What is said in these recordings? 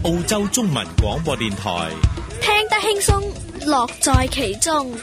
澳洲中文廣播電台， 聽得輕鬆，樂在其中。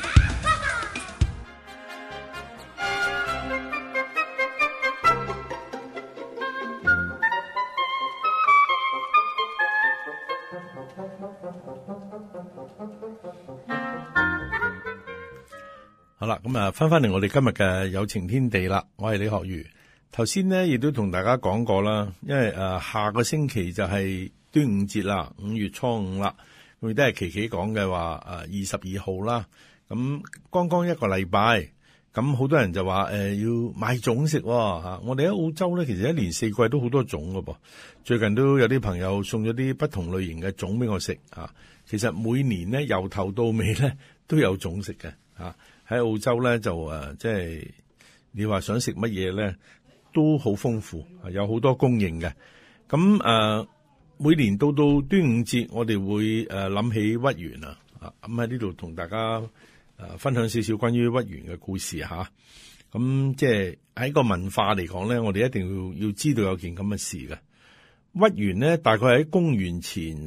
好啦，咁啊，翻嚟我哋今日嘅有情天地啦。我係李學儒。頭先呢亦都同大家講過啦，因為下個星期就係端午節啦，5月初5啦，咁亦都係琪琪講嘅話22號啦。咁剛剛一個禮拜，咁好多人就話要買粽食喎。我哋喺澳洲咧，其實一年四季都好多粽噶噃。最近都有啲朋友送咗啲不同類型嘅粽俾我食啊。其實每年咧由頭到尾咧都有粽食嘅啊。喺澳洲咧就即係你話想食乜嘢咧都好豐富，有好多供應嘅。咁每年到端午節，我哋會諗起屈原啊。咁喺呢度同大家分享少少關於屈原嘅故事吓。咁即係喺個文化嚟講咧，我哋一定要知道有件咁嘅事嘅。屈原呢，大概喺公元前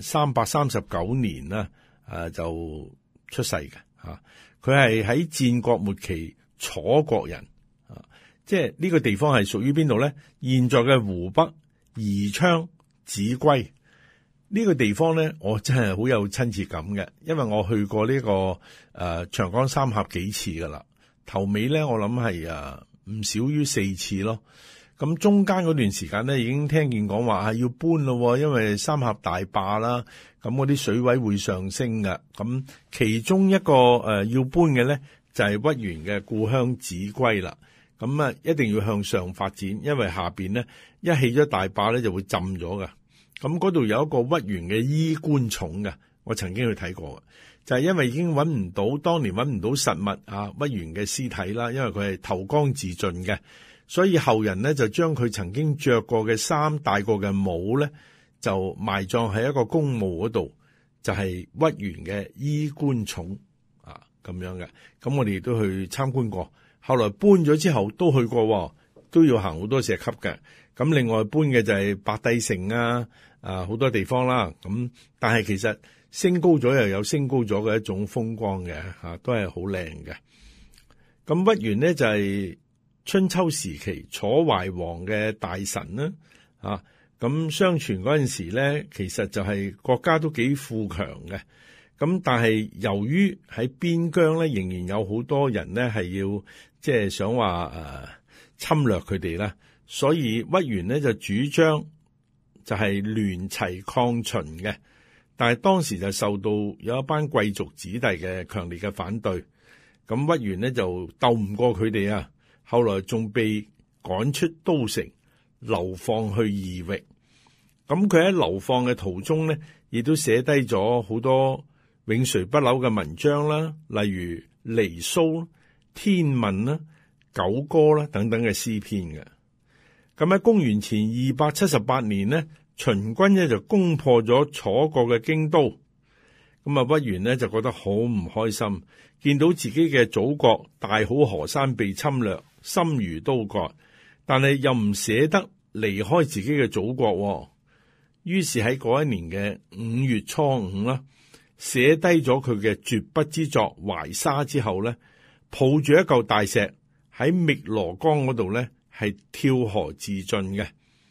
339年啦，就出世嘅吓。佢係喺戰國末期楚國人，即係呢個地方係屬於邊度咧？現在嘅湖北宜昌秭歸呢個地方咧，我真係好有親切感嘅，因為我去過呢個長江三峽幾次噶啦，頭尾咧我諗係唔少於4次咯。咁中間嗰段時間咧，已經聽見講話要搬咯，因為三峽大壩啦，咁嗰啲水位會上升㗎。咁其中一個要搬嘅咧，就係屈原嘅故鄉秭歸啦。咁一定要向上發展，因為下邊咧一起咗大壩咧就會浸咗噶。咁嗰度有一個屈原嘅衣冠冢嘅，我曾經去睇過嘅，就係因為已經當年揾唔到實物屈原嘅屍體啦，因為佢係投江自盡嘅。所以後人咧就將佢曾經着過嘅衫、戴過嘅帽咧，就埋葬喺一個公墓嗰度，就係屈原嘅衣冠冢咁樣嘅。咁我哋亦都去參觀過，後來搬咗之後都去過，都要行好多石級嘅。咁另外搬嘅就係白帝城好多地方啦。咁但係其實升高咗又有升高咗嘅一種風光嘅都係好靚嘅。咁屈原呢，就係春秋時期楚懷王嘅大臣啦，咁相傳嗰陣時咧，其實就係國家都幾富強嘅，咁但係由於喺邊疆咧，仍然有好多人咧係要即係想話侵略佢哋啦，所以屈原咧就主張就係聯齊抗秦嘅，但係當時就受到有一班貴族子弟嘅強烈嘅反對，咁屈原咧就鬥唔過佢哋啊。後來仲被趕出都城，流放去異域。咁佢喺流放嘅途中咧，亦都寫低咗好多永垂不朽嘅文章啦，例如《離騷》、《天問》啦、《九歌》啦等等嘅詩篇嘅。咁喺公元前278年呢，秦軍咧就攻破咗楚國嘅京都。咁屈原呢就覺得好唔開心，見到自己嘅祖國大好河山被侵略，心如刀割，但係又唔捨得離開自己嘅祖國，於是喺嗰一年嘅5月初5啦，寫低咗佢嘅絕筆之作《懷沙》之後咧，抱住一嚿大石喺汨羅江嗰度咧係跳河自盡嘅。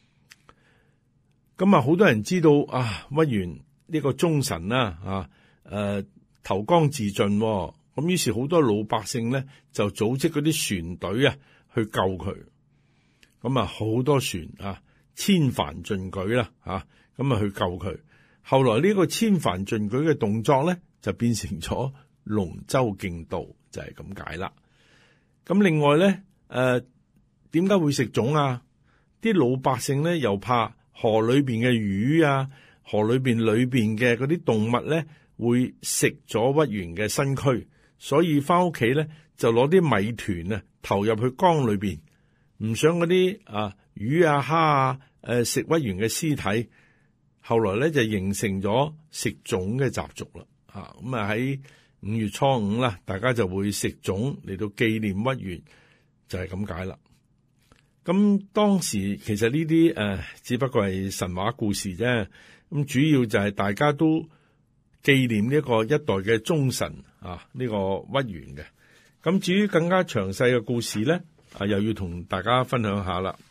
咁好多人知道屈原呢個忠臣啦投江自盡，咁於是好多老百姓咧就組織嗰啲船隊去救佢，咁好多船千帆盡舉啦咁去救佢。後來呢個千帆盡舉嘅動作咧就變成咗龍舟競渡，就係咁解啦。咁另外咧點解會食粽啊？啲老百姓咧又怕河裏邊嘅魚河裏邊嘅嗰啲動物咧會食咗屈原嘅身軀，所以翻屋企咧就攞啲米團投入去江裏邊，唔想嗰啲魚蝦食屈原嘅屍體。後來咧就形成咗食粽嘅習俗啦。咁喺5月初5啦，大家就會食粽嚟到紀念屈原，就係咁解啦。 咁當時其實呢啲只不過係神話故事啫。咁主要就係大家都紀念呢一個一代嘅忠臣啊，呢個屈原嘅。咁至於更加詳細嘅故事咧，又要同大家分享下啦。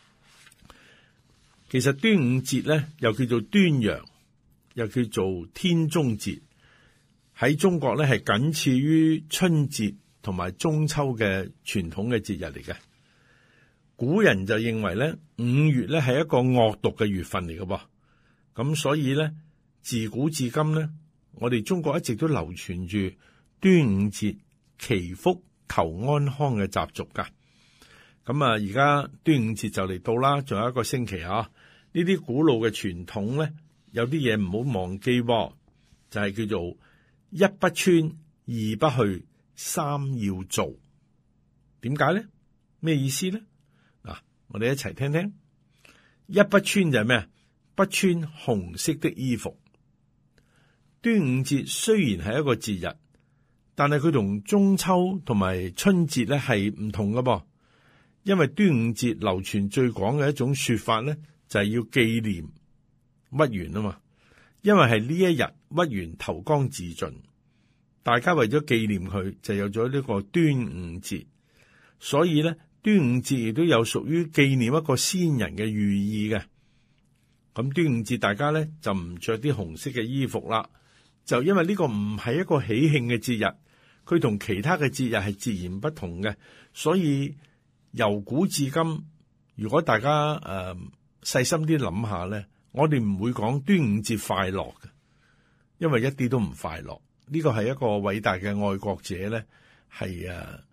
其實端午節咧又叫做端陽，又叫做天中節，喺中國咧係僅次於春節同埋中秋嘅傳統嘅節日嚟嘅。古人就認為咧5月咧係一個惡毒嘅月份嚟嘅噃，咁所以咧自古至今咧，我哋中國一直都流傳住端午節祈福求安康嘅習俗噶。咁啊，而家端午節就嚟到啦，仲有一個星期啊。呢啲古老嘅傳統咧，有啲嘢唔好忘記喎，就係叫做一不穿，二不去，三要做。點解咧？咩意思咧？嗱，我哋一齊聽聽。一不穿就係咩？不穿紅色的衣服。端午節雖然係一個節日，但係佢同中秋同埋春節咧係唔同㗎噃。因為端午節流傳最廣嘅一種說法咧，就係要紀念屈原啊嘛。因為係呢一日屈原投江自盡，大家為咗紀念佢，就有咗呢個端午節。所以咧，端午節亦都有屬於紀念一個先人嘅寓意嘅。咁端午節大家咧就唔着啲紅色嘅衣服啦，就因為呢個唔係一個喜慶嘅節日，佢同其他嘅節日係截然不同嘅。所以由古至今，如果大家細心啲諗下咧，我哋唔會講端午節快樂嘅，因為一啲都唔快樂。呢個係一個偉大嘅愛國者咧，係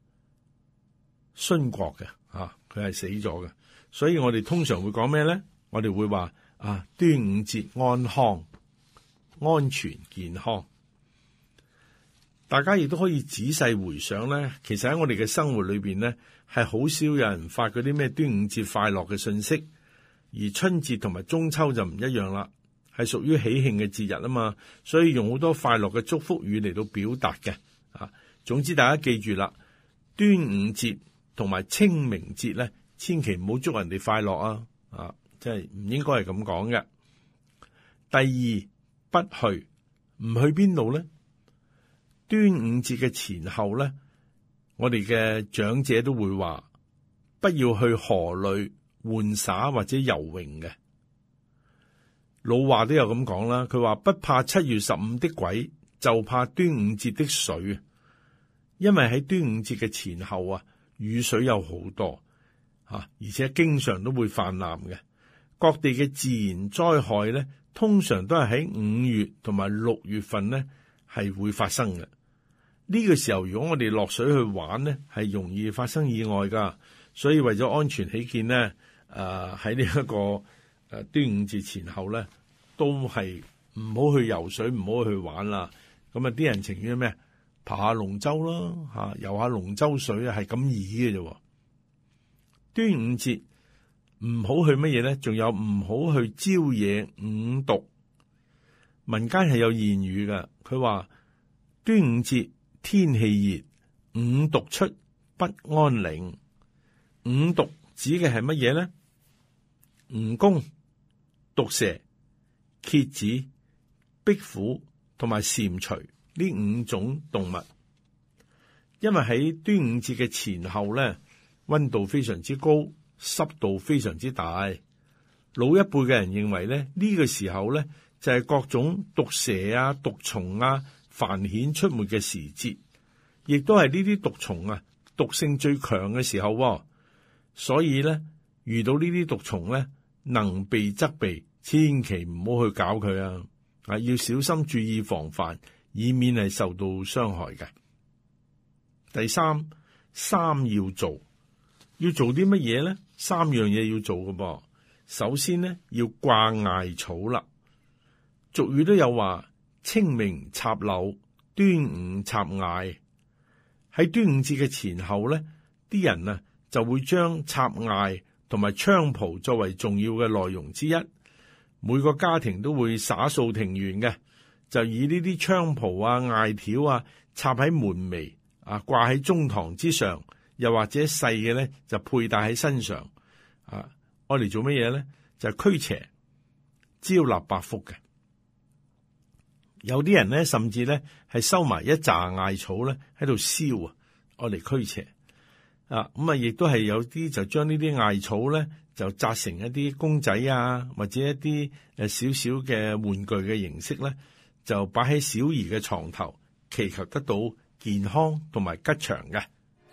殉國嘅嚇，佢係死咗嘅。所以我哋通常會講咩咧？我哋會話端午節安康、安全、健康。大家亦都可以仔細回想咧，其實喺我哋嘅生活裏邊咧，係好少有人發嗰啲咩端午節快樂嘅信息，而春節同埋中秋就唔一樣啦，係屬於喜慶嘅節日啊嘛，所以用好多快樂嘅祝福語嚟到表達嘅啊。總之大家記住啦，端午節同埋清明節咧，千祈唔好祝人哋快樂啊，即係唔應該係咁講嘅。第二，不去，唔去邊度咧？端午節嘅前後咧，我哋嘅長者都會話，不要去河裏玩耍或者游泳嘅。老話都有咁講啦，佢話不怕7月15的鬼，就怕端午節的水。因為喺端午節嘅前後雨水有好多而且經常都會泛濫嘅。各地嘅自然災害咧，通常都係喺5月同埋6月份咧係會發生嘅。呢個時候如果我哋落水去玩咧，係容易發生意外噶。所以為咗安全起見咧，喺呢一個端午節前後咧，都係唔好去游水，唔好去玩啦。咁啲人情願咩？爬下龍舟啦，游下龍舟水係咁易嘅啫。端午節唔好去乜嘢咧？仲有唔好去招惹五毒。民間係有諺語噶，佢話端午節天氣熱，五毒出不安寧。五毒指嘅係乜嘢咧？蜈蚣、毒蛇、蠍子、壁虎同埋蟾蜍呢5種動物。因為喺端午節嘅前後咧，溫度非常之高，濕度非常之大。老一輩嘅人認為咧，呢個時候咧就係各種毒蛇毒蟲繁衍出沒嘅時節，亦都係呢啲毒蟲毒性最強嘅時候。所以咧，遇到呢啲毒蟲咧，能避則避，千祈唔好去搞佢要小心注意防範，以免係受到傷害嘅。第三要做，要做啲乜嘢咧？3樣嘢要做嘅噃。首先咧，要掛艾草啦。俗語都有話，清明插柳，端午插艾。喺端午節嘅前後咧，啲人就會將插艾同埋菖蒲作為重要嘅內容之一。每個家庭都會灑掃庭園嘅，就以呢啲菖蒲艾條插喺門楣掛喺中堂之上，又或者細嘅咧就佩戴喺身上。 啊，愛嚟做乜嘢咧？就係驅邪、招納百福嘅。有啲人咧，甚至咧係收埋一紮艾草咧喺度燒啊，愛嚟驅邪啊。咁啊，亦都係有啲就將呢啲艾草咧就紮成一啲公仔啊，或者一啲少少嘅玩具嘅形式咧，就擺喺小兒嘅床頭，祈求得到健康同埋吉祥嘅。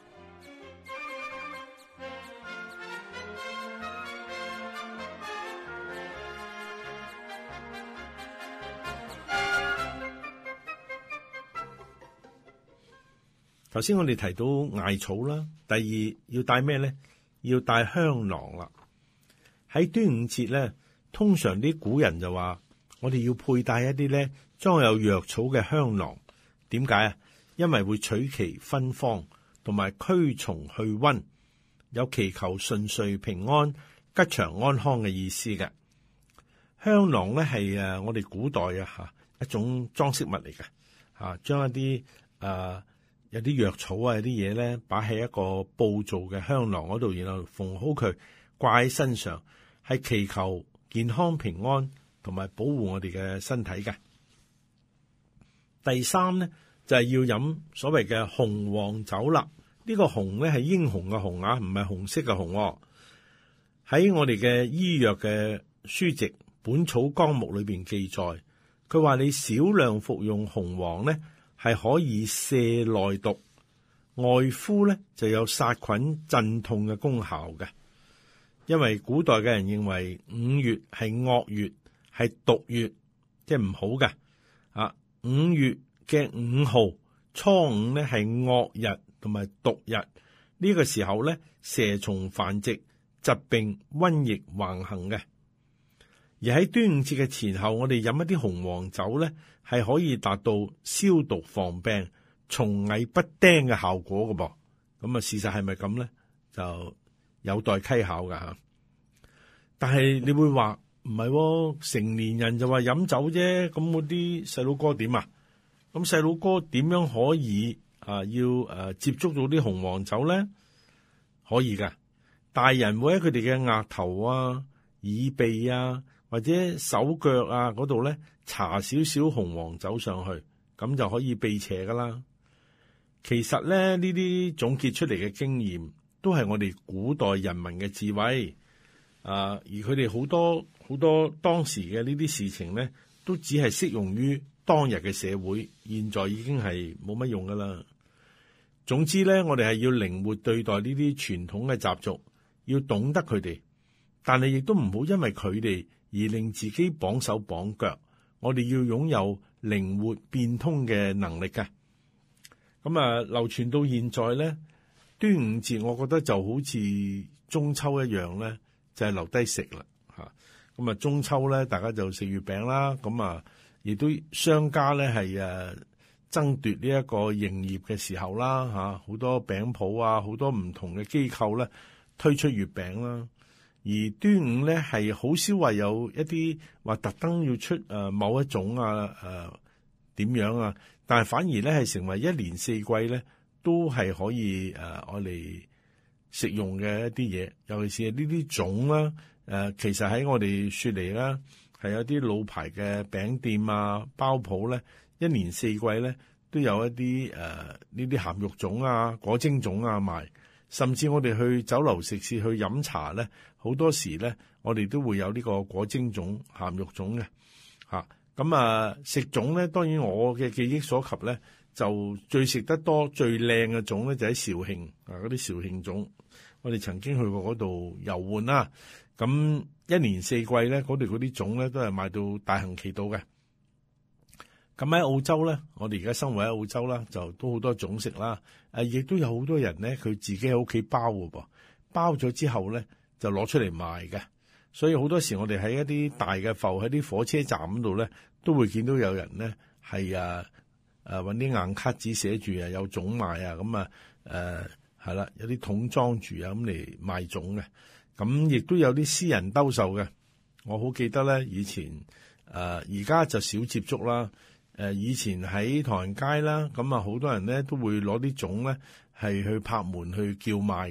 頭先我哋提到艾草啦，第二要帶咩咧？要帶香囊啦。喺端午節咧，通常啲古人就話我哋要佩戴一啲咧裝有藥草嘅香囊。點解啊？因為會取其芬芳，同埋驅蟲去瘟，有祈求順遂平安、吉祥安康嘅意思嘅。香囊咧係我哋古代一種裝飾物嚟嘅，將一啲有啲藥草有啲嘢咧擺喺一個布做嘅香囊嗰度，然後縫好佢掛喺身上，係祈求健康平安同埋保護我哋嘅身體嘅。第三咧就係要飲所謂嘅雄黃酒啦。呢個雄咧係英雄嘅雄啊，唔係紅色嘅紅。喺我哋嘅醫藥嘅書籍《本草綱目》裏邊記載，佢話你少量服用雄黃咧，係可以瀉內毒，外敷咧就有殺菌鎮痛嘅功效嘅。因為古代嘅人認為5月係惡月，係毒月，即係唔好嘅。5月嘅5號初5咧係惡日同埋毒日，呢個時候咧蛇蟲繁殖，疾病瘟疫橫行嘅。而喺端午節嘅前後，我哋飲一啲雄黃酒咧，係可以達到消毒防病、蟲蟻不叮嘅效果嘅噃。咁啊，事實係咪咁咧？就有待稽考噶吓。但係你會話唔係，成年人就話飲酒啫，咁嗰啲細佬哥點啊？咁細佬哥點樣可以要接觸到啲雄黃酒咧？可以噶，大人會喺佢哋嘅額頭啊、耳鼻啊，或者手腳啊嗰度咧，搽少少雄黃酒上去，咁就可以避邪噶啦。其實咧，呢啲總結出嚟嘅經驗，都係我哋古代人民嘅智慧。而佢哋好多當時嘅呢啲事情咧，都只係適用於當日嘅社會，現在已經係冇乜用噶啦。總之咧，我哋係要靈活對待呢啲傳統嘅習俗，要懂得佢哋，但係亦都唔好因為佢哋而令自己綁手綁腳。我哋要擁有靈活變通嘅能力嘅。咁流傳到現在咧，端午節我覺得就好似中秋一樣咧，就係留低食啦嚇。咁中秋咧，大家就食月餅啦。咁亦都商家咧係爭奪呢一個營業嘅時候啦嚇，好多餅鋪啊，好多唔同嘅機構咧推出月餅啦。而端午咧係好少話有一啲話特登要出某一種點樣啊，但係反而咧係成為一年四季咧都係可以我嚟食用嘅一啲嘢，尤其是呢啲粽啦。其實喺我哋雪梨啦，係有啲老牌嘅餅店啊、包鋪咧，一年四季咧都有一啲呢啲鹹肉粽啊、果蒸粽啊賣。甚至我哋去酒樓食肆去飲茶咧，好多時咧我哋都會有呢個果蒸粽、鹹肉粽嘅嚇。咁食粽咧，當然我嘅記憶所及咧，就最食得多、最靚嘅粽咧就喺肇慶嗰啲肇慶粽。我哋曾經去過嗰度遊玩啦。咁一年四季咧，嗰度嗰啲粽咧都係賣到大行其道嘅。咁喺澳洲咧，我哋而家生活喺澳洲啦，就都好多粽食啦。亦都有好多人咧，佢自己喺屋企包嘅噃，包咗之後咧就攞出嚟賣嘅。所以好多時我哋喺一啲大嘅埠喺啲火車站嗰度咧，都會見到有人咧係搵啲硬卡紙寫住有粽賣啊，咁係啦，有啲桶裝住啊咁嚟賣粽嘅。咁亦都有啲私人兜售嘅。我好記得咧，以前而家就少接觸啦。以前喺唐人街啦，咁好多人咧都會攞啲粽咧係去拍門去叫賣嘅。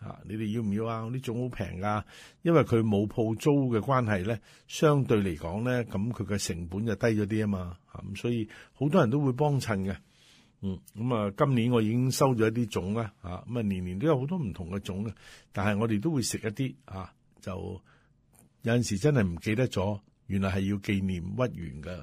你哋要唔要啊？啲種好平噶，因為佢冇鋪租嘅關係咧，相對嚟講咧，咁佢嘅成本就低咗啲啊嘛，咁所以好多人都會幫襯嘅。咁啊，今年我已經收咗一啲種啦，咁啊年年都有好多唔同嘅種嘅，但係我哋都會食一啲，就有陣時真係唔記得咗，原來係要紀念屈原噶。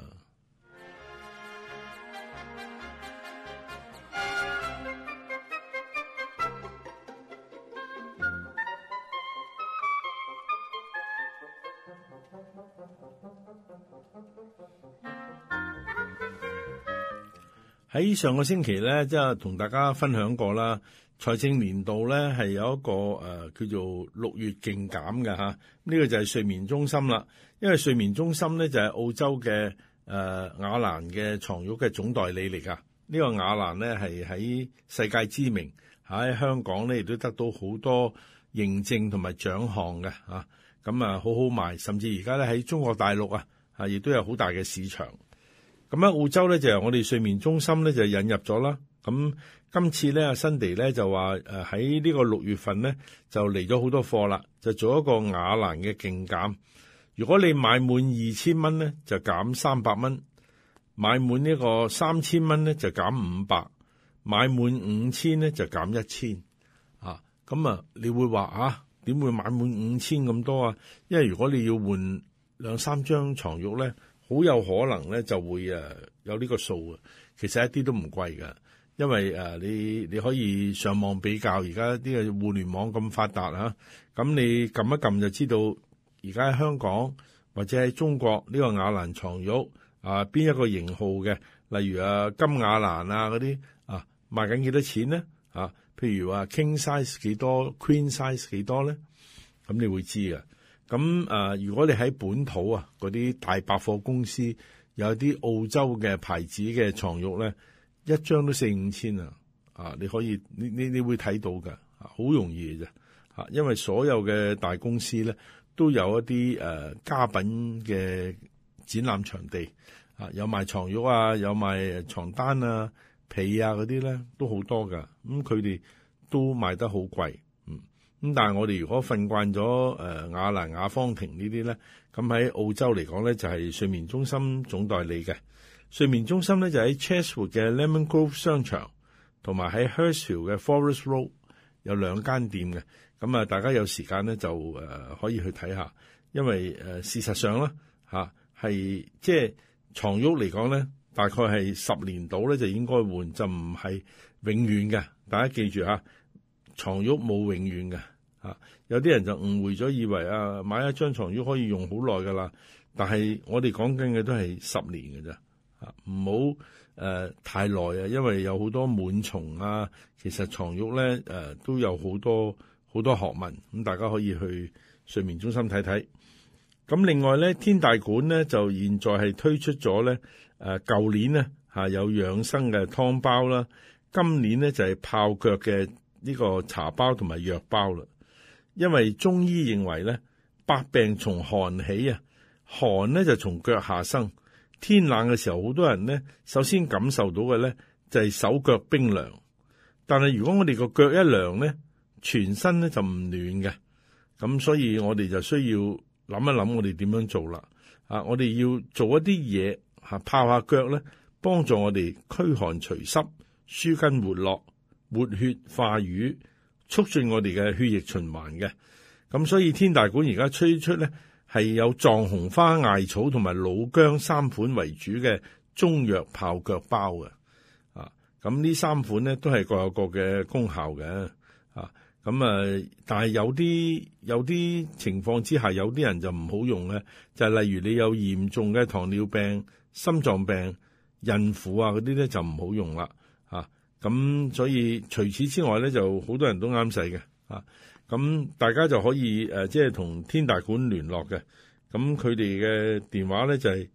喺上個星期咧，即係同大家分享過啦。財政年度咧係有一個叫做6月競減嘅嚇，呢個就係睡眠中心啦。因為睡眠中心咧就係澳洲嘅雅蘭嘅床褥嘅總代理嚟噶。呢個雅蘭咧係喺世界知名，喺香港咧亦都得到好多認證同埋獎項嘅嚇。咁好好賣，甚至而家咧喺中國大陸亦都有好大嘅市場。咁喺澳洲咧就由我哋睡眠中心咧就引入咗啦。咁今次咧阿辛迪咧就話喺呢個6月份咧就嚟咗好多貨啦，就做一個雅蘭嘅競減。如果你買滿2000蚊咧就減300蚊，買滿呢個3000蚊咧就減500，買滿5000咧就減1000。咁你會話點會買滿5000咁多啊？因為如果你要換2-3張床褥咧，好有可能咧就會有呢個數啊。其實一啲都唔貴㗎，因為你可以上網比較，而家啲嘅互聯網咁發達咁你撳一撳就知道而家喺香港或者喺中國呢個雅蘭床褥邊一個型號嘅，例如金雅蘭嗰啲賣緊幾多錢咧？譬如話 King size 幾多 ，Queen size 幾多咧？咁你會知㗎。咁如果你喺本土嗰啲大百貨公司有啲澳洲嘅牌子嘅床褥咧，一張都4-5千你可以你會睇到㗎，好容易嘅啫。因為所有嘅大公司咧都有一啲家品嘅展覽場地，有賣床褥有賣床單被嗰啲咧都好多㗎。咁佢哋都賣得好貴。咁但係我哋如果瞓慣咗雅蘭雅芳庭呢啲咧，咁喺澳洲嚟講咧就係睡眠中心總代理嘅。睡眠中心咧就喺 Chatswood 嘅 Lemon Grove 商場，同埋喺 Hurstville 嘅 Forest Road 有2間店嘅。咁大家有時間咧就可以去睇下，因為事實上啦係即係床褥嚟講咧，大概係10年到咧就應該換，就唔係永遠嘅。大家記住床褥冇永遠嘅。有啲人就誤會咗，以為買一張床褥可以用好耐噶啦，但係我哋講緊嘅都係10年嘅啫，唔好太耐因為有好多蟎蟲其實床褥咧都有好多學問，咁大家可以去睡眠中心睇睇。咁另外咧，天大館咧就現在係推出咗咧舊年咧有養生嘅湯包啦，今年咧就係泡腳嘅呢個茶包同埋藥包啦。因為中醫認為咧，百病從寒起寒咧就從腳下生。天冷嘅時候，好多人咧首先感受到嘅咧就係手腳冰涼。但係如果我哋個腳一涼咧，全身咧就唔暖嘅。咁所以我哋就需要諗一諗我哋點樣做啦。我哋要做一啲嘢泡下腳咧，幫助我哋驅寒除濕、舒筋活絡、活血化瘀，促進我哋嘅血液循環嘅。咁所以天大館而家推出咧係有藏紅花、艾草同埋老薑3款為主嘅中藥泡腳包嘅。咁呢3款咧都係各有各嘅功效嘅。但係有啲情況之下，有啲人就唔好用咧，就係例如你有嚴重嘅糖尿病、心臟病、孕婦嗰啲咧就唔好用啦。咁所以除此之外咧，就好多人都啱使嘅。咁大家就可以即係同天大館聯絡嘅。咁佢哋嘅電話咧就係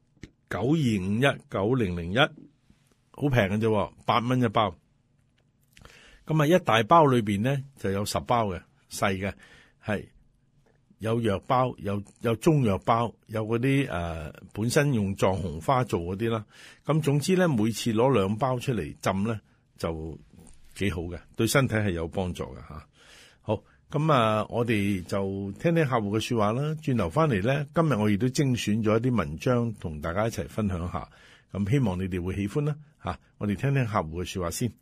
92519001，好平嘅啫，8蚊一包。咁一大包裏邊咧就有10包嘅，細嘅係有藥包，有中藥包，有嗰啲本身用藏紅花做嗰啲啦。咁總之咧，每次攞2包出嚟浸咧就幾好嘅，對身體係有幫助嘅吓。好， 咁我哋就聽聽客戶嘅說話啦。轉頭翻嚟呢，今日我亦都精選咗一啲文章同大家一齊分享下。咁希望你哋會喜歡啦。我哋聽聽客戶嘅說話先。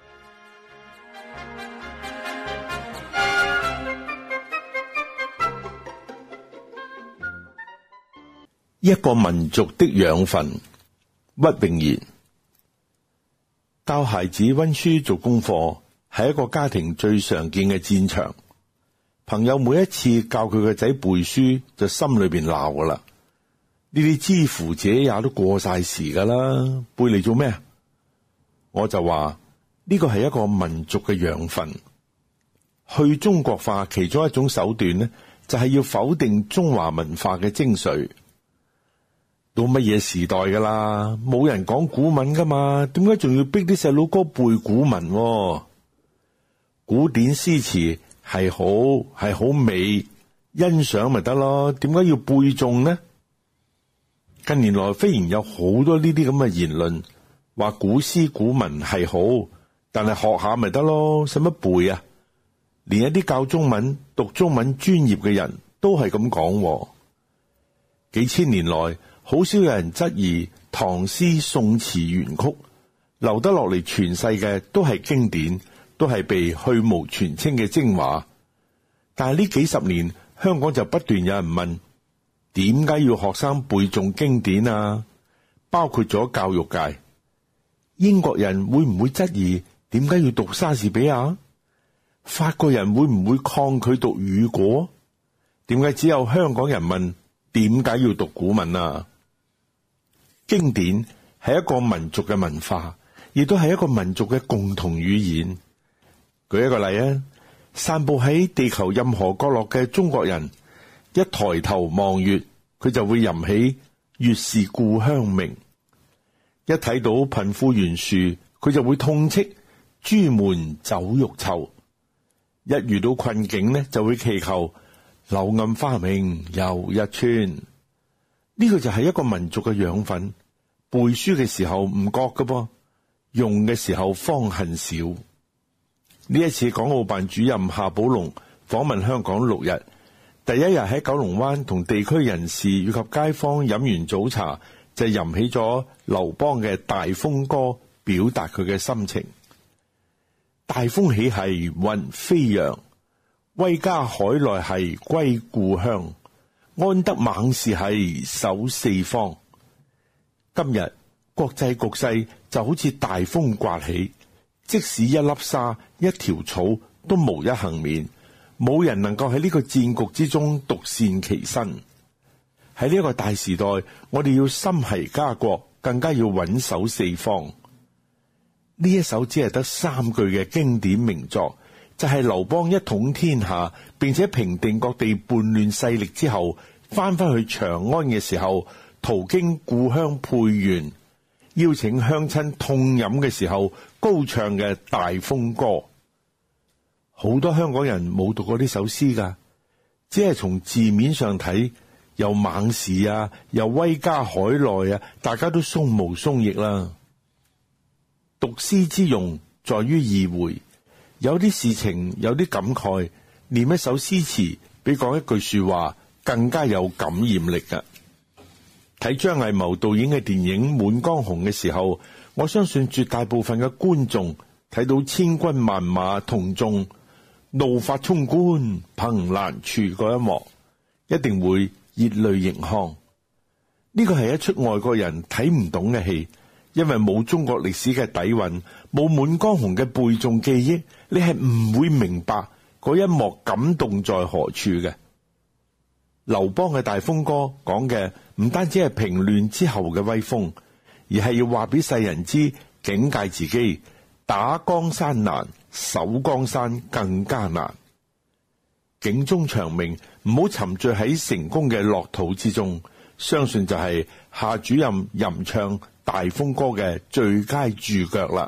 一個民族的養分，屈穎妍。教孩子溫書做功課係一個家庭最常見嘅戰場。朋友每一次教佢個仔背書，就心裏邊鬧噶啦。呢啲之乎者也都過晒時噶啦，背嚟做咩？我就話呢個係一個民族嘅養分。去中國化其中一種手段呢，就係要否定中華文化嘅精髓。到乜嘢時代噶啦？冇人講古文噶嘛？點解仲要逼啲細佬哥背古文？古典詩詞係好美，欣賞咪得咯？點解要背誦呢？近年來忽然有好多呢啲咁嘅言論，話古詩古文係好，但係學下咪得咯？使乜背啊？連一啲教中文、讀中文專業嘅人都係咁講。幾千年來，好少有人質疑唐詩宋詞元曲，留得落嚟傳世嘅都係經典，都係被去蕪傳菁嘅精華。但係呢幾十年，香港就不斷有人問，點解要學生背誦經典啊？包括咗教育界，英國人會唔會質疑點解要讀莎士比亞？法國人會唔會抗拒讀雨果？點解只有香港人問點解要讀古文啊？經典係一個民族嘅文化，亦都係一個民族嘅共同語言。舉一個例啊，散步喺地球任何角落嘅中國人，一抬頭望月，佢就會吟起月是故鄉明；一睇到貧富懸殊，佢就會痛斥朱門酒肉臭；一遇到困境呢，就會祈求柳暗花明又一村。呢個就係一個民族嘅養分。背書嘅時候唔覺㗎噃，用嘅時候方恨少。呢一次港澳辦主任夏寶龍訪問香港6日，第一日喺九龍灣同地區人士以及街坊飲完早茶，就吟起咗劉邦嘅《大風歌》，表達佢嘅心情。大風起兮雲飛揚，威加海內兮歸故鄉，安得猛士兮守四方。今日國際局勢就好似大風颳起，即使一粒沙、一條草都無一幸免，冇人能夠喺呢個戰局之中獨善其身。喺呢一個大時代，我哋要心繫家國，更加要穩守四方。呢一首只係得3句嘅經典名作，就係劉邦一統天下，並且平定各地叛亂勢力之後，翻去長安嘅時候，途經故鄉沛縣，邀請鄉親痛飲嘅時候高唱嘅《大風歌》。好多香港人冇讀過呢首詩噶，只係從字面上睇，又猛士啊，又威加海內啊，大家都鬆毛鬆翼啦。讀詩之用在於意會，有啲事情，有啲感慨，念一首詩詞比講一句說話更加有感染力噶。睇張藝謀導演嘅電影《滿江紅》嘅時候，我相信絕大部分嘅觀眾睇到千軍萬馬同眾怒髮衝冠憑欄處嗰一幕，一定會熱淚盈眶。呢個係一出外國人睇唔懂嘅戲，因為冇中國歷史嘅底蘊，冇滿江紅嘅背誦記憶，你係唔會明白嗰一幕感動在何處嘅。劉邦嘅《大風歌》講嘅唔單止係平亂之後嘅威風，而係要話俾世人知，警戒自己，打江山難，守江山更加難。警鐘長鳴，唔好沉醉喺成功嘅樂土之中，相信就係夏主任吟唱《大風歌》嘅最佳注腳啦。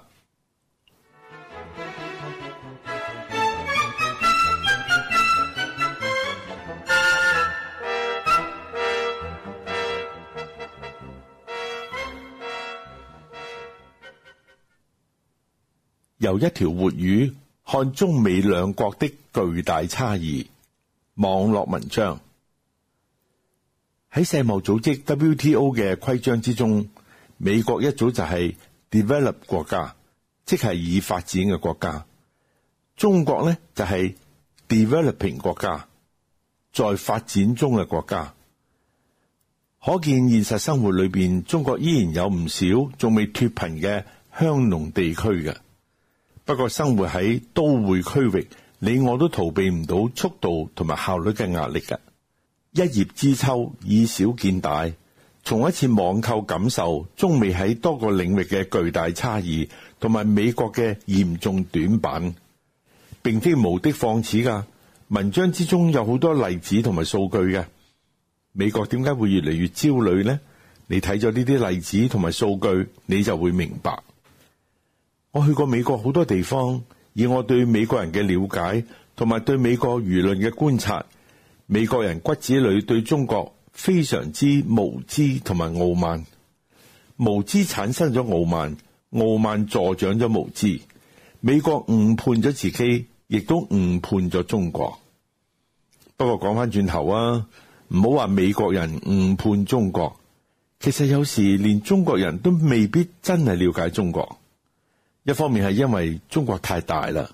由一條活魚看中美兩國的巨大差異。網絡文章。喺世貿組織 WTO 嘅規章之中，美國一早就係 developed 國家，即係已發展嘅國家。中國呢，就係 developing 國家，在發展中嘅國家。可見現實生活裏邊，中國依然有唔少仲未脫貧嘅鄉農地區嘅。不過生活喺都會區域，你我都逃避唔到速度同埋效率嘅壓力嘅。一葉知秋，以小見大。從一次網購感受中美喺多個領域嘅巨大差異，同埋美國嘅嚴重短板，並非無的放矢噶。文章之中有好多例子同埋數據嘅。美國點解會越嚟越焦慮呢？你睇咗呢啲例子同埋數據，你就會明白。我去過美國好多地方，以我對美國人嘅了解同埋對美國輿論嘅觀察，美國人骨子裏對中國非常之無知同埋傲慢。無知產生咗傲慢，傲慢助長咗無知。美國誤判咗自己，亦都誤判咗中國。不過講翻轉頭啊，唔好話美國人誤判中國，其實有時連中國人都未必真係了解中國。一方面係因為中國太大啦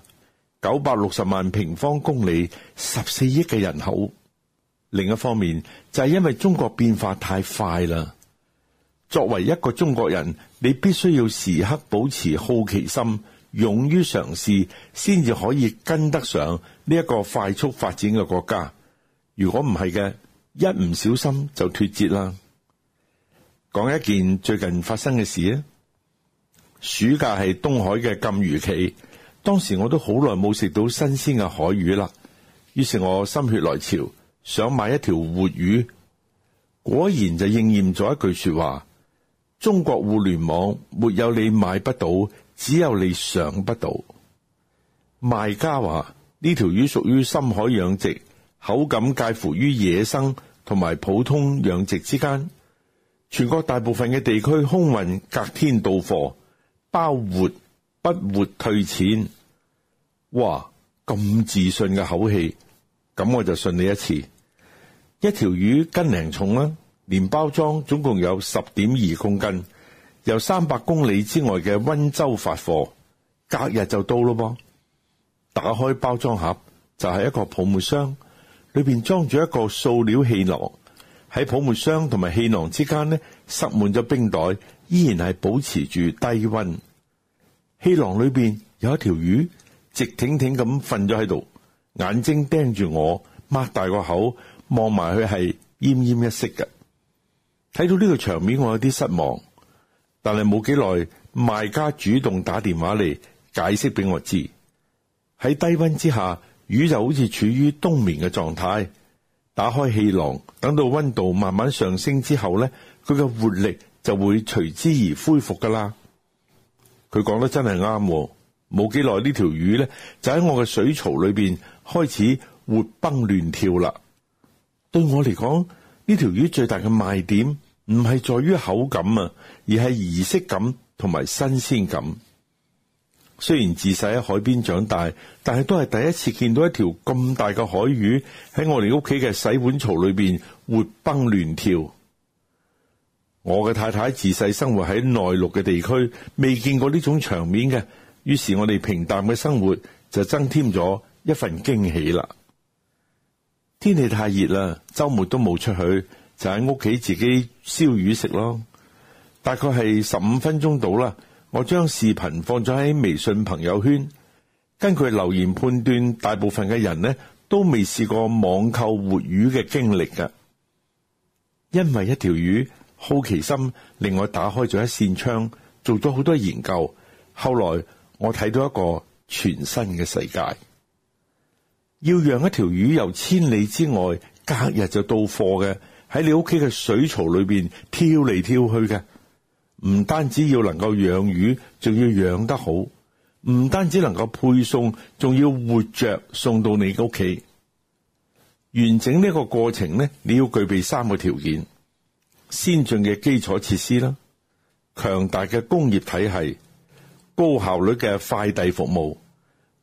，960萬平方公里，14億嘅人口；另一方面就係因為中國變化太快啦。作為一個中國人，你必須要時刻保持好奇心，勇於嘗試，先至可以跟得上呢一個快速發展嘅國家。如果唔係嘅，一唔小心就脫節啦。講一件最近發生嘅事啊！暑假係東海嘅禁漁期，當時我都好耐冇食到新鮮嘅海魚啦。於是我心血來潮，想買一條活魚。果然就應驗咗一句說話：中國互聯網沒有你買不到，只有你想不到。賣家話呢條魚屬於深海養殖，口感介乎於野生同埋普通養殖之間。全國大部分嘅地區空運隔天到貨，包活不活退錢。哇，咁自信嘅口氣，咁我就信你一次。一條魚斤零重啦，連包裝總共有 10.2 公斤，由300公里之外嘅溫州發貨，隔日就到咯噃。打開包裝盒就係一個泡沫箱，裏邊裝住一個塑料氣囊。喺泡沫箱同埋氣囊之間呢，塞滿咗冰袋，依然係保持住低溫。氣囊裏邊有一條魚，直挺挺咁瞓咗喺度，眼睛盯住我，擘大個口望埋去，係奄奄一息嘅。睇到呢個場面，我有啲失望，但係冇幾耐，賣家主動打電話嚟解釋俾我知，喺低溫之下，魚就好似處於冬眠嘅狀態。打開氣囊，等到溫度慢慢上升之後呢，佢嘅活力就會隨之而恢復噶啦。佢講得真係啱，冇幾耐呢條魚呢，就喺我嘅水槽裏邊開始活蹦亂跳啦。對我嚟講，呢條魚最大嘅賣點唔係在於口感啊，而係儀式感同埋新鮮感。雖然自細喺海邊長大，但係都係第一次見到一條咁大嘅海魚喺我哋屋企嘅洗碗槽裏邊活蹦亂跳。我嘅太太自細生活喺內陸嘅地區，未見過呢種場面嘅，於是我哋平淡嘅生活就增添咗一份驚喜啦。天氣太熱啦，周末都冇出去，就喺屋企自己燒魚食咯。大概係15分鐘到啦。我將視頻放咗喺微信朋友圈，根據留言判斷，大部分嘅人呢都未試過網購活魚嘅經歷㗎。因為一條魚，好奇心令我打開咗一扇窗，做咗好多研究。後來我睇到一個全新嘅世界。要讓一條魚由千里之外隔日就到貨嘅，喺你屋企嘅水槽裏邊跳嚟跳去嘅。唔單止要能夠養魚，仲要養得好；唔單止能夠配送，仲要活着送到你屋企。完整呢個過程呢，你要具備3個條件：先進嘅基礎設施啦，強大嘅工業體系，高效率嘅快遞服務，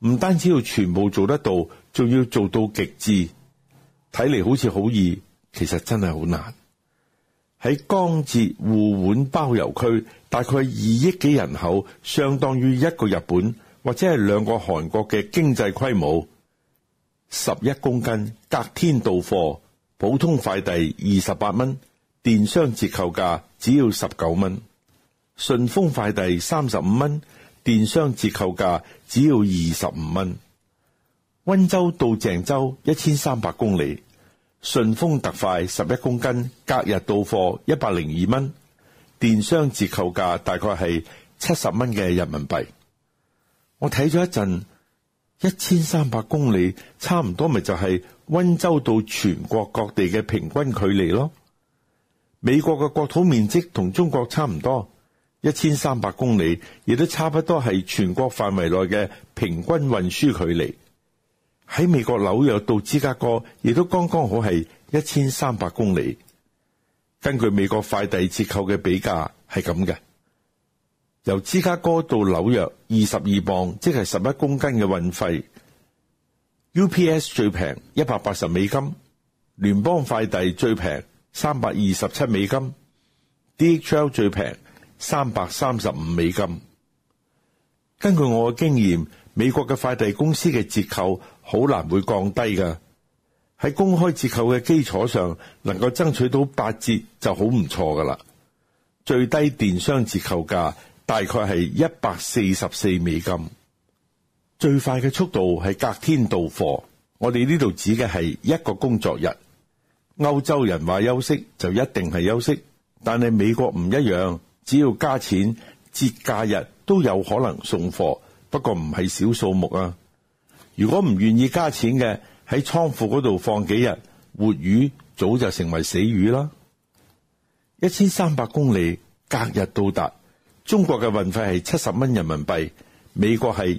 唔單止要全部做得到，仲要做到極致。睇嚟好似好易，其實真係好難。喺江浙滬皖包郵區，大概2億幾人口，相當於一個日本或者係2個韓國嘅經濟規模。11公斤隔天到貨，普通快遞28蚊，電商折扣價只要19蚊。順豐快遞35蚊，電商折扣價只要25蚊。溫州到鄭州1300公里，順豐特快11公斤，隔日到貨102蚊，電商折扣價大概係70蚊嘅人民幣。我睇咗一陣，1300公里差唔多咪就係溫州到全國各地嘅平均距離咯。美國嘅國土面積同中國差唔多，1300公里亦都差不多係全國範圍內嘅平均運輸距離。喺美國紐約到芝加哥亦都剛剛好係1300公里。根據美國快遞折扣嘅比價係咁嘅，由芝加哥到紐約22磅，即係11公斤嘅運費。UPS 最平180美金，聯邦快遞最平327美金， DHL 最平335美金。根據我嘅經驗，美國嘅快遞公司嘅折扣好難會降低㗎。喺公開折扣嘅基礎上，能夠爭取到8折就好唔錯㗎啦。最低電商折扣價大概係144美金。最快嘅速度係隔天到貨，我哋呢度指嘅係1個工作日。歐洲人話休息就一定係休息，但係美國唔一樣，只要加錢，節假日都有可能送貨，不過唔係小數目啊。如果唔願意加錢嘅，喺倉庫嗰度放幾日，活魚早就成為死魚啦。1300公里隔日到達，中國嘅運費係70蚊人民幣，美國係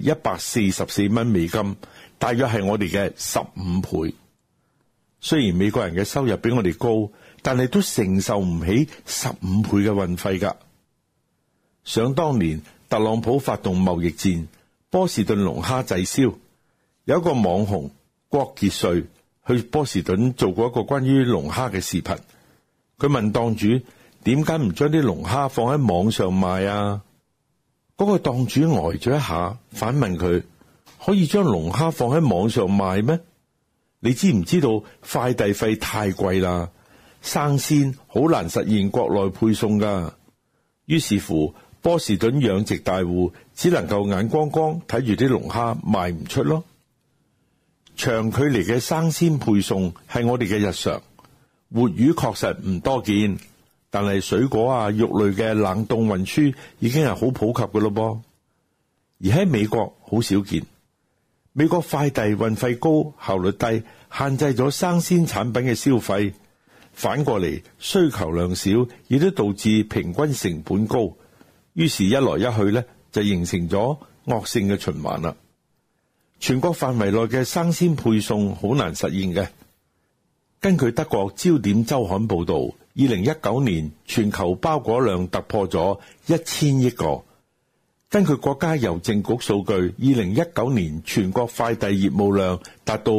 144蚊美金，大約係我哋嘅15倍。雖然美國人嘅收入比我哋高，但係都承受唔起15倍嘅運費㗎。想當年特朗普發動貿易戰，波士頓龍蝦滯銷，有一個網紅郭傑瑞去波士頓做過一個關於龍蝦嘅視頻。佢問檔主點解唔將啲龍蝦放喺網上賣啊？嗰個檔主呆咗一下，反問佢：可以將龍蝦放喺網上賣咩？你知唔知道快遞費太貴啦，生鮮好難實現國內配送噶。於是乎，波士頓養殖大戶只能夠眼光光睇住啲龍蝦賣唔出咯。長距離嘅生鮮配送係我哋嘅日常，活魚確實唔多見，但係水果啊、肉類嘅冷凍運輸已經係好普及嘅咯噃。而喺美國好少見，美國快遞運費高、效率低，限制咗生鮮產品嘅消費。反過嚟，需求量少，亦都導致平均成本高。於是，一來一去呢，就形成咗惡性嘅循環啦。全國範圍內嘅生鮮配送好難實現嘅。根據德國焦點週刊報導，2019年全球包裹量突破咗1000億個。根據國家郵政局數據，2019年全國快遞業務量達到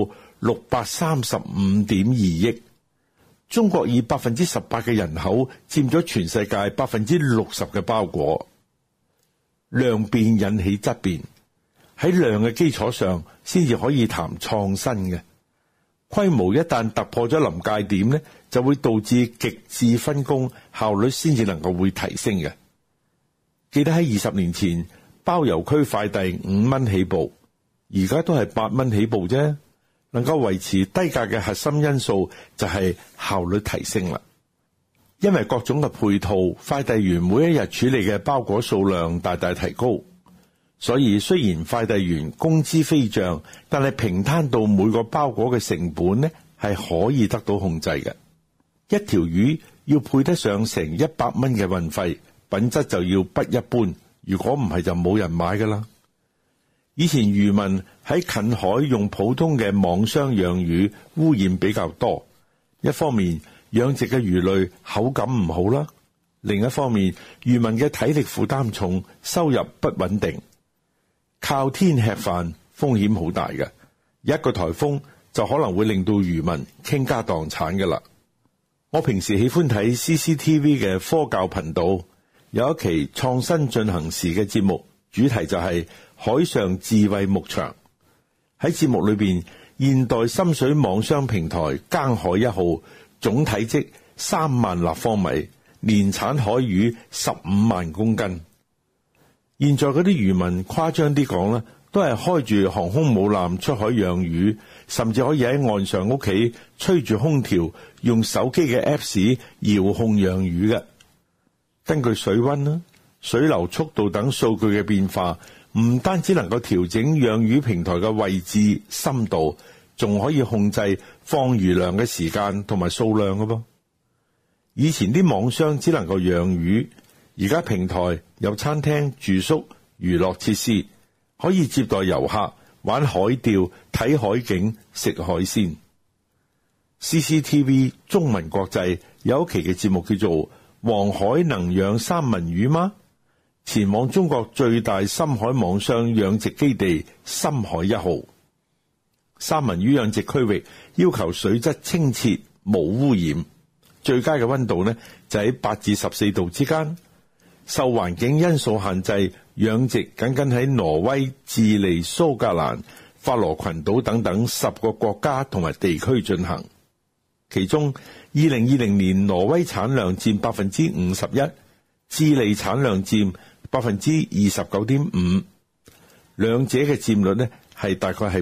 635.2億。中國以18%嘅人口佔咗全世界60%嘅包裹。量變引起質變，喺量嘅基礎上先至可以談創新嘅。規模一旦突破咗臨界點呢，就會導致極致分工，效率先至能夠會提升嘅。記得喺20年前，包郵區快遞5蚊起步，而家都係8蚊起步啫。能夠維持低價嘅核心因素就係效率提升啦。因為各種嘅配套，快遞員每一日處理嘅包裹數量大大提高，所以雖然快遞員工資飛漲，但係平攤到每個包裹嘅成本呢，係可以得到控制嘅。一條魚要配得上成100蚊嘅運費，品質就要不一般，如果唔係就冇人買噶啦。以前漁民喺近海用普通嘅網箱養魚，污染比較多。一方面養殖嘅魚類口感唔好啦，另一方面漁民嘅體力負擔重，收入不穩定。靠天吃飯， 風險好大嘅，一個颱風就可能會令到漁民傾家蕩產㗎啦。我平時喜歡睇 CCTV 嘅科教頻道，有一期創新進行時嘅節目，主題就係海上智慧牧場。喺節目裏邊，現代深水網商平台耕海1號總體積3萬立方米，年產海魚15萬公斤。現在嗰啲漁民誇張啲講啦，都係開住航空母艦出海養魚，甚至可以喺岸上屋企吹住空調，用手機嘅 Apps 遙控養魚嘅。根據水溫啦、水流速度等數據嘅變化，唔單止能夠調整養魚平台嘅位置、深度，仲可以控制放魚糧嘅時間同埋數量嘅噃。以前啲網商只能夠養魚，而家平台有餐廳、住宿、娛樂設施，可以接待遊客玩海釣、睇海景、食海鮮。CCTV 中文國際有一期嘅節目叫做《黃海能養三文魚嗎？》，前往中國最大深海網商養殖基地深海1號。三文魚養殖區域要求水質清澈無污染，最佳嘅溫度呢就喺8至14度之間。受環境因素限制，養殖僅喺挪威、智利、蘇格蘭、法羅群島等等10個國家同埋地區進行。其中2020年挪威產量佔51%，智利產量佔29.5%，兩者嘅佔率呢係大概係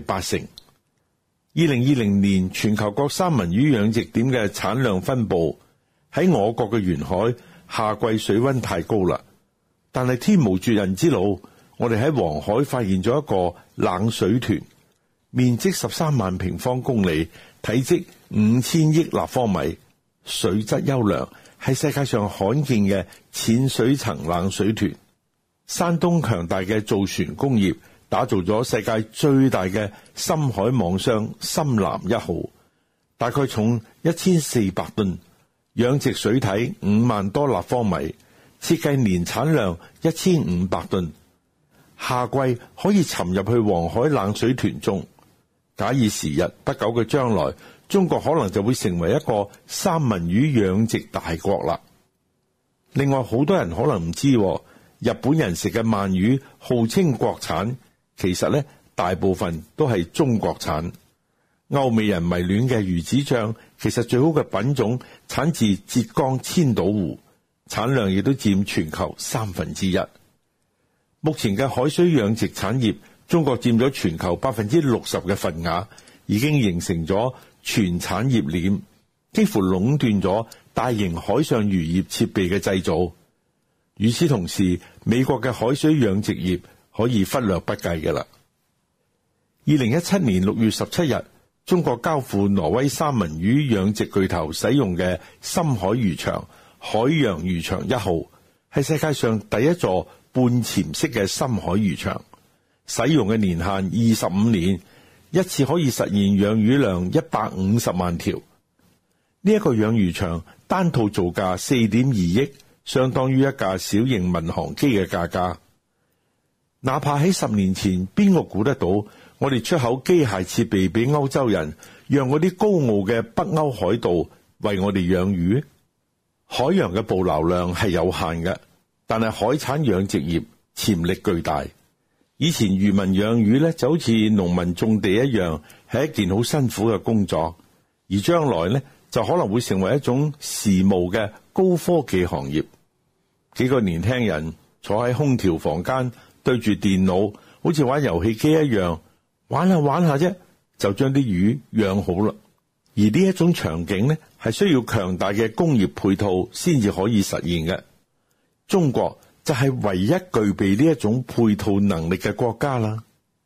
80%。2020年全球各三文魚養殖點嘅產量分佈，喺我國嘅沿海，夏季水溫太高啦，但係天無絕人之路，我哋喺黃海發現咗一個冷水豚，面積13萬平方公里，體積5000億立方米，水質優良，係世界上罕見嘅淺水層冷水豚。山東強大嘅造船工業打造咗世界最大嘅深海網箱深藍1號，大概重1400噸，養殖水體5萬多立方米，設計年產量1500噸，夏季可以沉入去黃海冷水豚中。假以時日，不久嘅將來，中國可能就會成為一個三文魚養殖大國啦。另外，好多人可能唔知，日本人食嘅鰻魚號稱國產，其實呢大部分都係中國產。歐美人迷戀嘅魚子醬，其實最好嘅品種產自浙江千島湖，產量亦都佔全球1/3。目前嘅海水養殖產業，中國佔咗全球60%嘅份額，已經形成咗全產業鏈，幾乎壟斷咗大型海上漁業設備嘅製造。與此同時，美國嘅海水養殖業可以忽略不計嘅啦。2017年6月17日，中國交付挪威三文魚養殖巨頭使用嘅深海漁場海洋漁場1號，係世界上第一座半潛式嘅深海漁場，使用嘅年限25年，一次可以實現養魚量150萬條。呢一個養魚場單套造價4.2億，相當於一架小型民航機嘅價格。哪怕喺10年前，邊個估得到我哋出口機械設備俾歐洲人，讓嗰啲高傲嘅北歐海盜為我哋養魚？海洋嘅捕撈量係有限嘅，但係海產養殖業潛力巨大。以前漁民養魚咧就好似農民種地一樣，係一件好辛苦嘅工作，而將來咧就可能會成為一種時髦嘅高科技行業。幾個年輕人坐喺空調房間，對住電腦，好似玩遊戲機一樣，玩下玩下啫，就將啲魚養好啦。而呢一種場景呢，係需要強大嘅工業配套先至可以實現嘅。中國就係唯一具備呢一種配套能力嘅國家啦。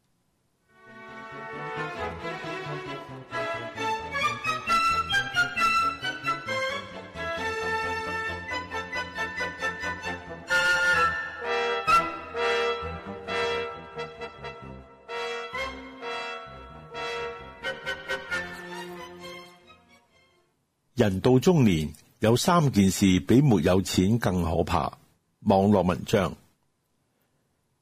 人到中年，有3件事比沒有錢更可怕。網絡文章。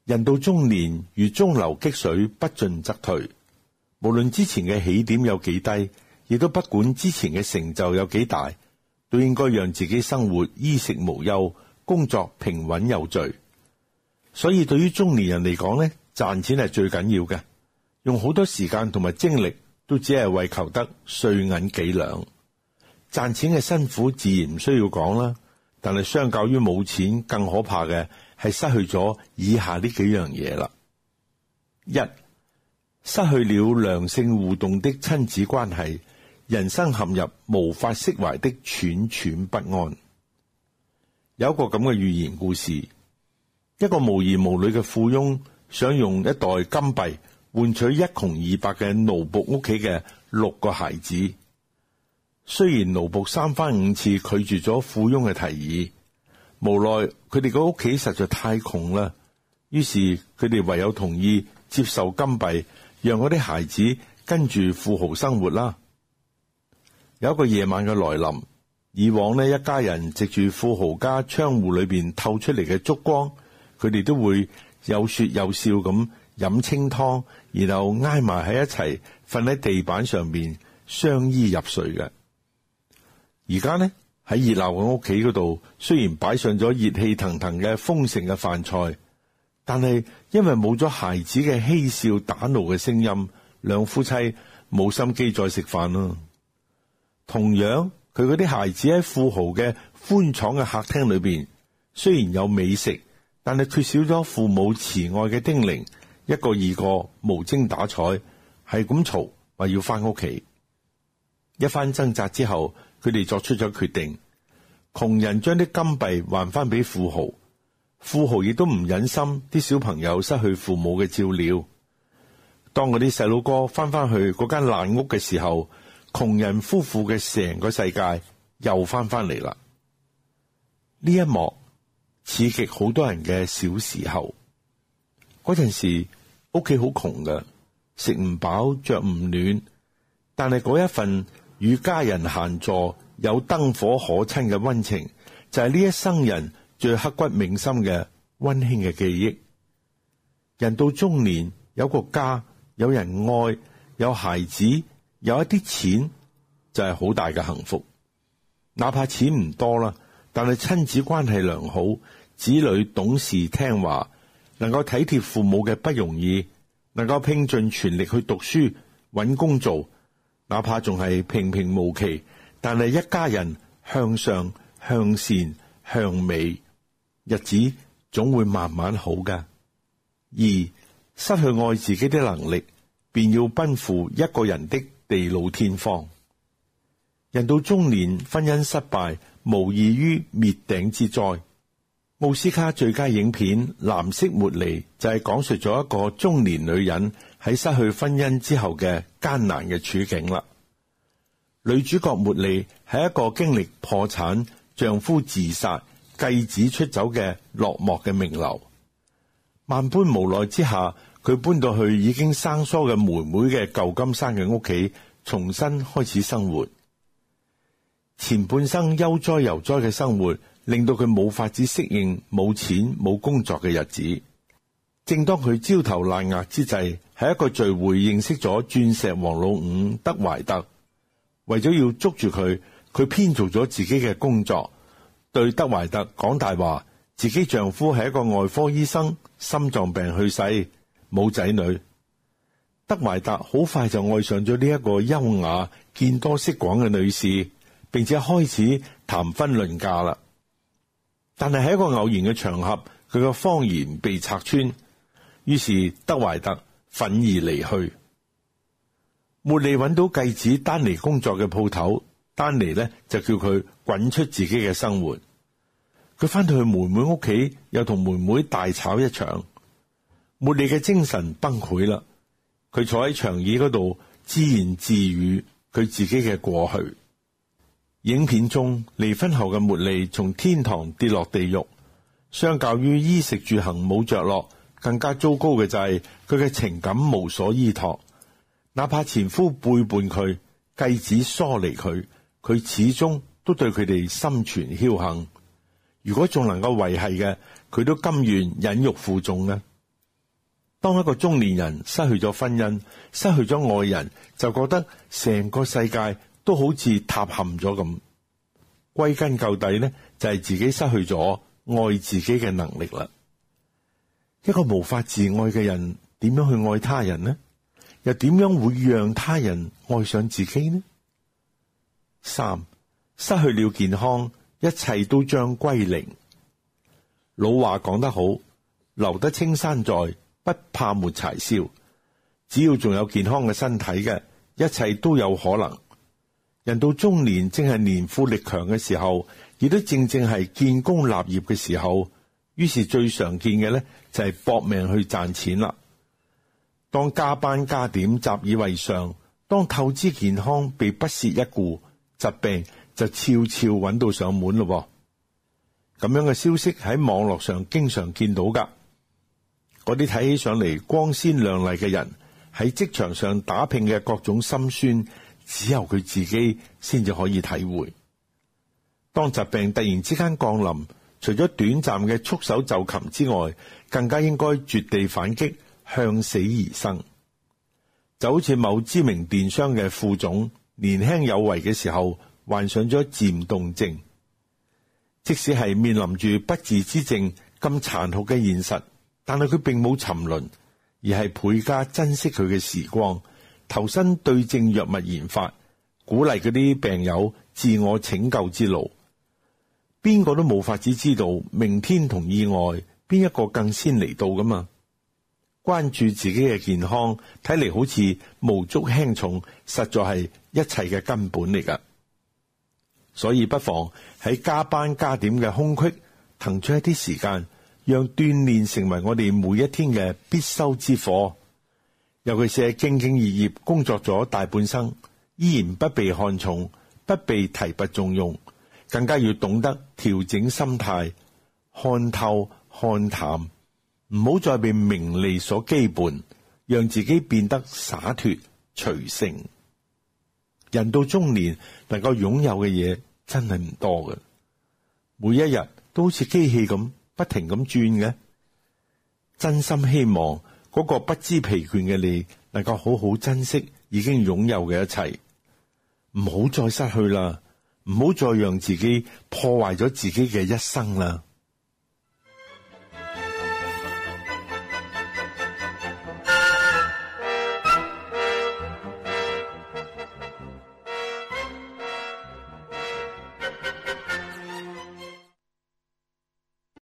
人到中年，如中流擊水，不進則退。無論之前嘅起點有幾低，亦都不管之前嘅成就有幾大，都應該讓自己生活衣食無憂，工作平穩有序。所以對於中年人嚟講呢，賺錢係最緊要嘅，用好多時間同埋精力都只係為求得歲銀幾兩。賺錢嘅辛苦自然唔需要講啦，但係相較於冇錢，更可怕嘅係失去咗以下呢幾樣嘢啦。一、失去了良性互動的親子關係，人生陷入無法釋懷的惴惴不安。有一個咁嘅寓言故事，一個無兒無女嘅富翁想用一袋金幣換取一窮二白嘅奴僕屋企嘅6個孩子。雖然奴僕3番5次拒絕咗富翁嘅提議，無奈佢哋個屋企實在太窮啦，於是佢哋唯有同意接受金幣，讓嗰啲孩子跟住富豪生活啦。有一個夜晚嘅來臨，以往呢，一家人藉住富豪家窗戶裏邊透出嚟嘅燭光，佢哋都會有說有笑咁飲清湯，然後挨埋喺一齊瞓喺地板上邊相依入睡嘅。而家呢，喺熱鬧嘅屋企嗰度，雖然擺上咗熱氣騰騰嘅豐盛嘅飯菜，但係因為冇咗孩子嘅嬉笑打鬧嘅聲音，兩夫妻冇心機再食飯啦。同樣，佢嗰啲孩子喺富豪嘅寬敞嘅客廳裏邊，雖然有美食，但係缺少咗父母慈愛嘅叮嚀，一個二個無精打采，係咁嘈話要翻屋企。一番掙扎之後，佢哋作出咗決定，窮人將啲金幣還翻俾富豪，富豪亦都唔忍心啲小朋友失去父母嘅照料。當嗰啲細佬哥翻返去嗰間爛屋嘅時候，窮人夫婦嘅成個世界又翻返嚟啦。呢一幕刺激好多人嘅小時候。嗰陣時屋企好窮㗎，食唔飽着唔暖，但係嗰一份與家人閒坐有燈火可親嘅溫情，就係呢一生人最刻骨銘心嘅溫馨嘅記憶。人到中年，有個家，有人愛，有孩子，有一啲錢，就係好大嘅幸福。哪怕錢唔多啦，但係親子關係良好，子女懂事聽話，能夠體貼父母嘅不容易，能夠拼盡全力去讀書搵工做，哪怕仲係平平無奇，但係一家人向上向善向美，日子總會慢慢好噶。二、失去愛自己的能力，便要奔赴一個人的地老天荒。人到中年，婚姻失敗無異於滅頂之災。奧斯卡最佳影片《藍色茉莉》就係講述咗一個中年女人喺失去婚姻之後嘅艱難嘅處境啦。女主角茉莉係一個經歷破產、丈夫自殺、繼子出走嘅落寞嘅名流。萬般無奈之下，佢搬到去已經生疏嘅妹妹嘅舊金山嘅屋企，重新開始生活。前半生悠哉悠哉嘅生活，令到佢冇法子適應冇錢冇工作嘅日子。正當佢焦頭爛額之際，喺一個聚會認識咗鑽石王老五德懷特。為咗要捉住佢，佢編造咗自己嘅工作，對德懷特講大話，自己丈夫係一個外科醫生，心臟病去世，冇仔女。德懷特好快就愛上咗呢一個優雅、見多識廣嘅女士，並且開始談婚論嫁啦。但係喺一個偶然嘅場合，佢嘅謊言被拆穿，於是德懷特憤而離去。茉莉揾到繼子丹尼工作嘅鋪頭，丹尼呢就叫佢滾出自己嘅生活。佢翻到去妹妹屋企，又同妹妹大吵一場。茉莉嘅精神崩潰啦，佢坐喺長椅嗰度自言自語佢自己嘅過去。影片中離婚後嘅茉莉從天堂跌落地獄，相較於衣食住行冇着落，更加糟糕嘅就係佢嘅情感無所依託。哪怕前夫背叛佢，繼子疏離佢，佢始終都對佢哋心存僥倖。如果仲能夠維繫嘅，佢都甘願忍辱負重嘅。 當一個中年人失去咗婚姻，失去咗愛人，就覺得成個世界都好似塌陷咗咁。歸根究底呢，就係自己失去咗愛自己嘅能力啦。一個無法自愛嘅人，點樣去愛他人呢？又點樣會讓他人愛上自己呢？3. 失去了健康，一切都將歸零。老話講得好，留得青山在，不怕沒柴燒。只要仲有健康嘅身體嘅，一切都有可能。人到中年，正係年富力強嘅時候，亦都正係建功立業嘅時候。於是最常見嘅呢，就係搏命去賺錢啦。當加班加點習以為常，當透支健康被不屑一顧，疾病就悄悄揾到上門咯。咁樣嘅消息喺網絡上經常見到噶。嗰啲睇起上嚟光鮮亮麗嘅人，喺職場上打拼嘅各種心酸，只有佢自己先至可以體會。當疾病突然之間降臨，除咗短暫嘅束手就擒之外，更加應該絕地反擊，向死而生。就好似某知名電商嘅副總，年輕有為嘅時候患上咗漸凍症。即使係面臨住不治之症咁殘酷嘅現實，但係佢並冇沉淪，而係倍加珍惜佢嘅時光，投身對症藥物研發，鼓勵嗰啲病友自我拯救之路。邊個都冇法子知道明天同意外邊一個更先嚟到噶嘛？關注自己嘅健康，睇嚟好似無足輕重，實在係一切嘅根本嚟噶。所以不妨喺加班加點嘅空隙，騰出一啲時間，讓鍛煉成為我哋每一天嘅必修之課。尤其是係兢兢業業工作咗大半生，依然不被看重，不被提拔重用，更加要懂得調整心態，看透看淡，唔好再被名利所羈絆，讓自己變得灑脫隨性。人到中年，能夠擁有嘅嘢真係唔多嘅，每一日都好似機器咁不停咁轉嘅。真心希望嗰個不知疲倦嘅你，能夠好好珍惜已經擁有嘅一切，唔好再失去啦，唔好再讓自己破壞咗自己嘅一生啦。